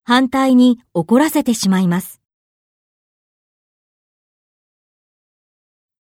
反対に怒らせてしまいます。